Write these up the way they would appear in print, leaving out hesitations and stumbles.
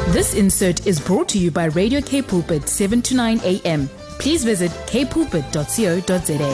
This insert is brought to you by Radio K Pulpit 7 to 9 a.m. Please visit kpulpit.co.za.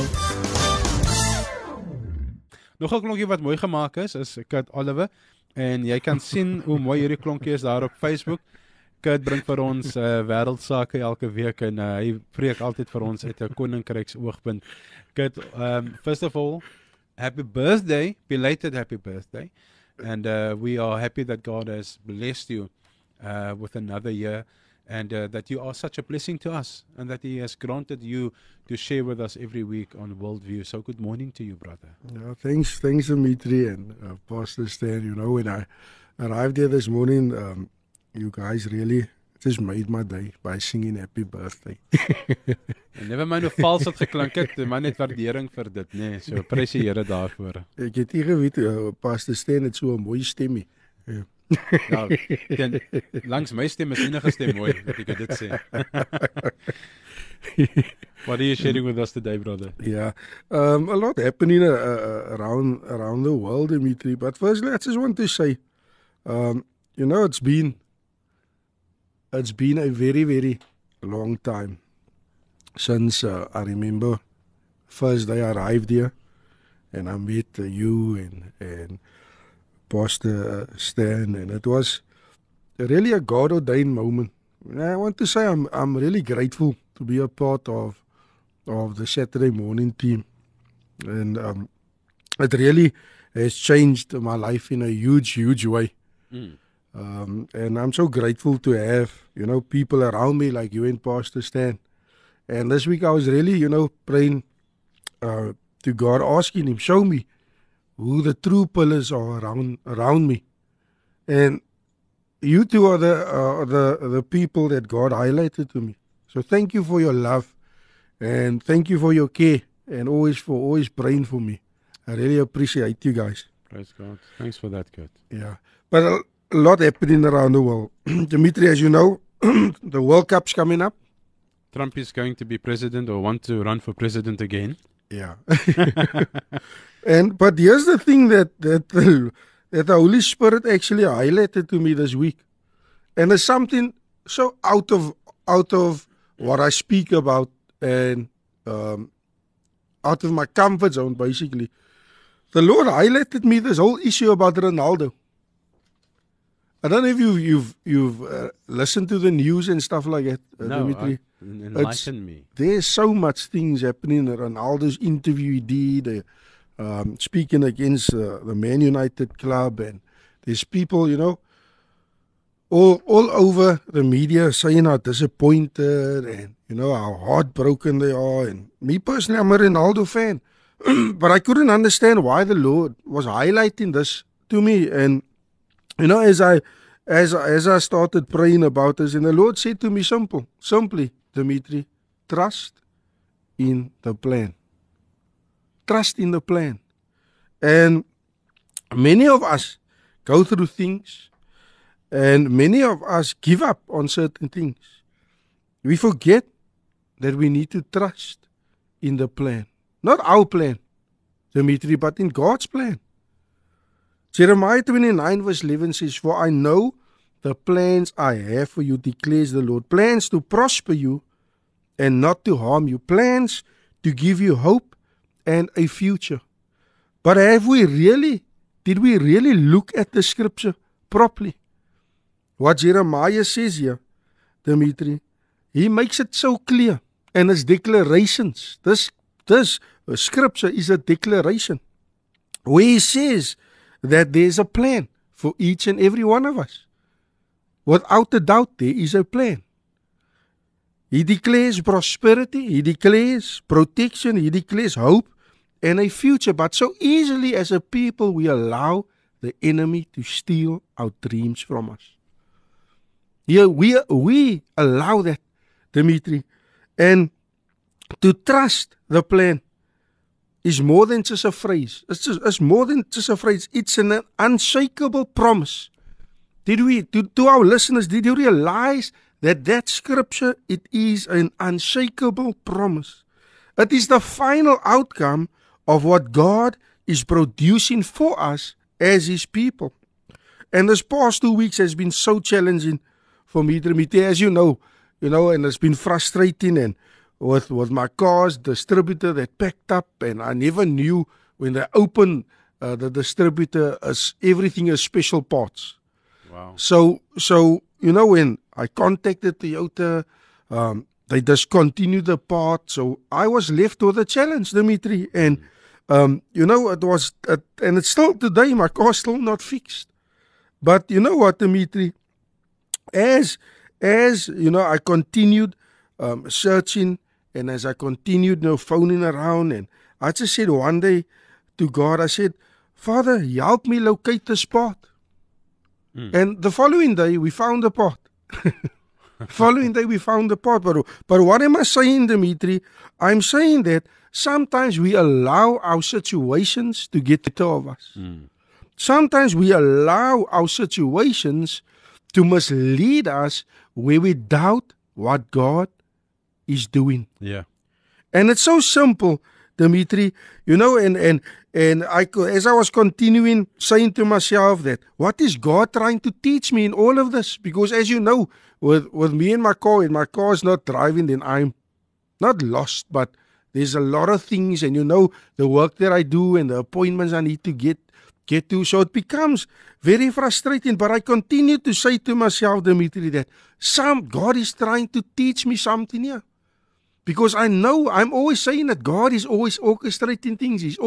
Nog 'n klonkie wat mooi gemaak is Kurt Oliver en jy kan sien hoe mooi hierdie klonkie is daar op Facebook. Kurt bring vir ons wêreldsake elke week en hy preek altyd vir ons uit 'n koninkryks oogpunt. Kurt, first of all, happy birthday, belated happy birthday. And we are happy that God has blessed you with another year, and that you are such a blessing to us, and that He has granted you to share with us every week on Worldview. So good morning to you, brother. Yeah, thanks Dimitri and Pastor Stan. You know, when I arrived here this morning, you guys really just made my day by singing happy birthday. Never mind hoe vals het geklink het, maar net waardering vir dit, nee. So prys die Here daarvoor. Ek het nie geweet Pastor Stan het so 'n mooi stemmie. Ja, langs my stem is enige stem mooi, dat ek dit sê. What are you sharing with us today, brother? Yeah, a lot happening around the world, Dimitri. But firstly, I just want to say, you know, it's been a very, very long time since I remember first day I arrived here, and I met you and Pastor Stan, and it was really a God-ordained moment. And I want to say I'm really grateful to be a part of the Saturday morning team, and it really has changed my life in a huge way. And I'm so grateful to have, you know, people around me like you and Pastor Stan. And this week I was really, you know, praying to God, asking Him, show me who the true pillars are around me. And you two are the people that God highlighted to me. So thank you for your love, and thank you for your care, and always praying for me. I really appreciate you guys. Praise God. Thanks for that, Kurt. Yeah, but a lot happening around the world. Dimitri, as you know, the World Cup's coming up. Trump is going to be president or want to run for president again. Yeah. But here's the thing that the Holy Spirit actually highlighted to me this week. And it's something so out of what I speak about, and out of my comfort zone, basically. The Lord highlighted me this whole issue about Ronaldo. I don't know if you've listened to the news and stuff like that, Dimitri. Enlighten me. There's so much things happening. Ronaldo's interview he did, speaking against the Man United club, and there's people, you know, all over the media saying how disappointed and, you know, how heartbroken they are. And me personally, I'm a Ronaldo fan, but I couldn't understand why the Lord was highlighting this to me. And you know, as I started praying about this, and the Lord said to me simply, Dimitri, trust in the plan. Trust in the plan. And many of us go through things, and many of us give up on certain things. We forget that we need to trust in the plan. Not our plan, Dimitri, but in God's plan. Jeremiah 29 verse 11 says, for I know the plans I have for you, declares the Lord. Plans to prosper you and not to harm you. Plans to give you hope and a future. But did we really look at the scripture properly? What Jeremiah says here, Dimitri, he makes it so clear. And his declarations, this scripture is a declaration where he says that there's a plan for each and every one of us. Without a doubt, there is a plan. He declares prosperity, he declares protection, he declares hope and a future. But so easily as a people, we allow the enemy to steal our dreams from us. Yeah, we allow that, Dimitri. And to trust the plan is more than just a phrase. It's more than just a phrase. It's an unshakable promise. To our listeners, did you realize that scripture, it is an unshakable promise? It is the final outcome of what God is producing for us as His people. And this past 2 weeks has been so challenging for me, Dimitri, as you know, and it's been frustrating, and with my car's distributor that packed up, and I never knew when they opened the distributor, everything is special parts. Wow. So when I contacted Toyota, they discontinued the part, so I was left with a challenge, Dimitri, and it was, and it's still today, my car's still not fixed. But you know what, Dimitri, as I continued searching, and as I continued phoning around, and I just said one day to God, I said, Father, help me locate the spot. And the following day, we found the pot. But what am I saying, Dimitri? I'm saying that sometimes we allow our situations to get the better of us. Sometimes we allow our situations to mislead us where we doubt what God is doing. Yeah. And it's so simple, Dimitri, and as I was continuing saying to myself that, what is God trying to teach me in all of this? Because as you know, with me and my car is not driving, then I'm not lost, but there's a lot of things, and the work that I do and the appointments I need to get to, so it becomes very frustrating. But I continue to say to myself, Dimitri, that God is trying to teach me something here. Because I know, I'm always saying that God is always orchestrating things. He's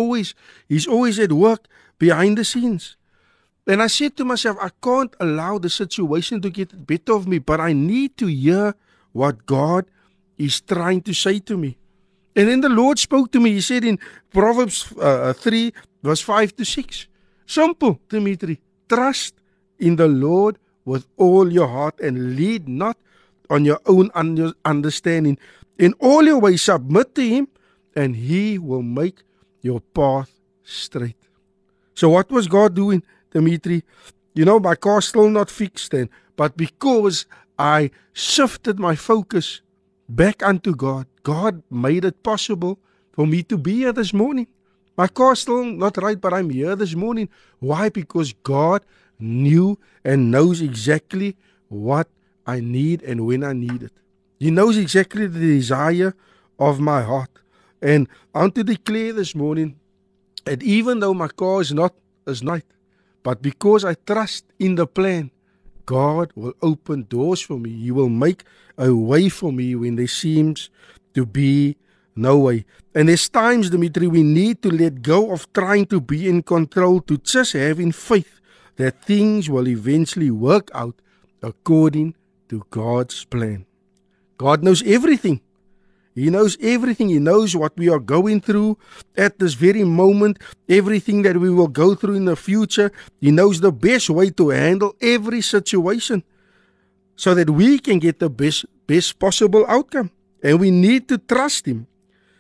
always at work behind the scenes. And I said to myself, I can't allow the situation to get the better of me, but I need to hear what God is trying to say to me. And then the Lord spoke to me. He said in Proverbs 3, verse 5 to 6, simple, Dimitri, trust in the Lord with all your heart and lead not on your own understanding. In all your ways submit to Him, and He will make your path straight. So what was God doing, Dimitri? My car's still not fixed then, but because I shifted my focus back unto God, God made it possible for me to be here this morning. My car's still not right, but I'm here this morning. Why? Because God knew and knows exactly what I need and when I need it. He knows exactly the desire of my heart. And I want to declare this morning that even though my car is not right, but because I trust in the plan, God will open doors for me. He will make a way for me when there seems to be no way. And there's times, Dimitri, we need to let go of trying to be in control, to just having faith that things will eventually work out according to God's plan. God knows everything. He knows everything. He knows what we are going through at this very moment, everything that we will go through in the future. He knows the best way to handle every situation so that we can get the best possible outcome. And we need to trust Him.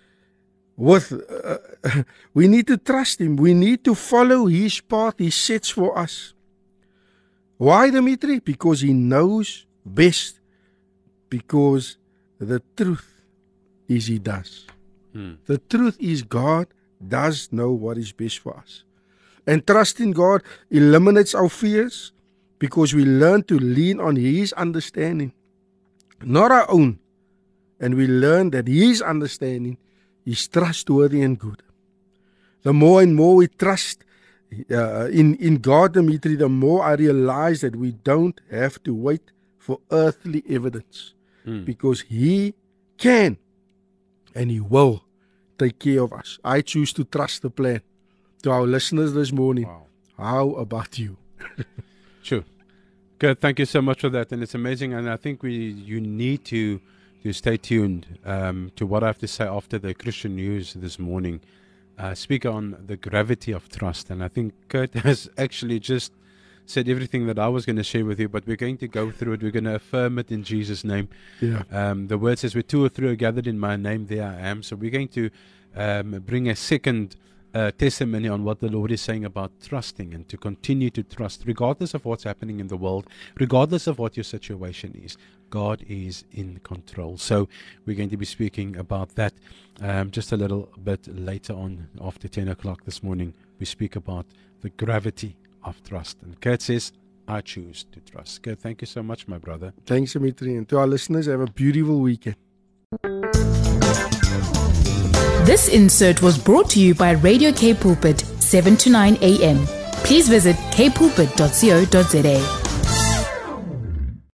We need to trust Him. We need to follow His path He sets for us. Why, Dimitri? Because He knows best. Because the truth is He does. The truth is God does know what is best for us. And trusting God eliminates our fears because we learn to lean on His understanding, not our own. And we learn that His understanding is trustworthy and good. The more and more we trust in God, Dimitri, the more I realize that we don't have to wait for earthly evidence. Because He can and He will take care of us. I choose to trust the plan. To our listeners this morning, wow. How about you? Sure. Good. Thank you so much for that. And it's amazing. And I think you need to stay tuned to what I have to say after the Christian news this morning. Speak on the gravity of trust. And I think Kurt has actually just said everything that I was going to share with you, but we're going to go through it. We're going to affirm it in Jesus' name. Yeah. The word says, where 2 or 3 are gathered in my name, there I am. So we're going to bring a second testimony on what the Lord is saying about trusting and to continue to trust, regardless of what's happening in the world, regardless of what your situation is. God is in control. So we're going to be speaking about that just a little bit later on after 10 o'clock this morning. We speak about the gravity of trust. And Kurt says, I choose to trust. Kurt, thank you so much, my brother. Thanks, Dimitri. And to our listeners, have a beautiful weekend. This insert was brought to you by Radio K Pulpit, 7 to 9 a.m. Please visit kpulpit.co.za.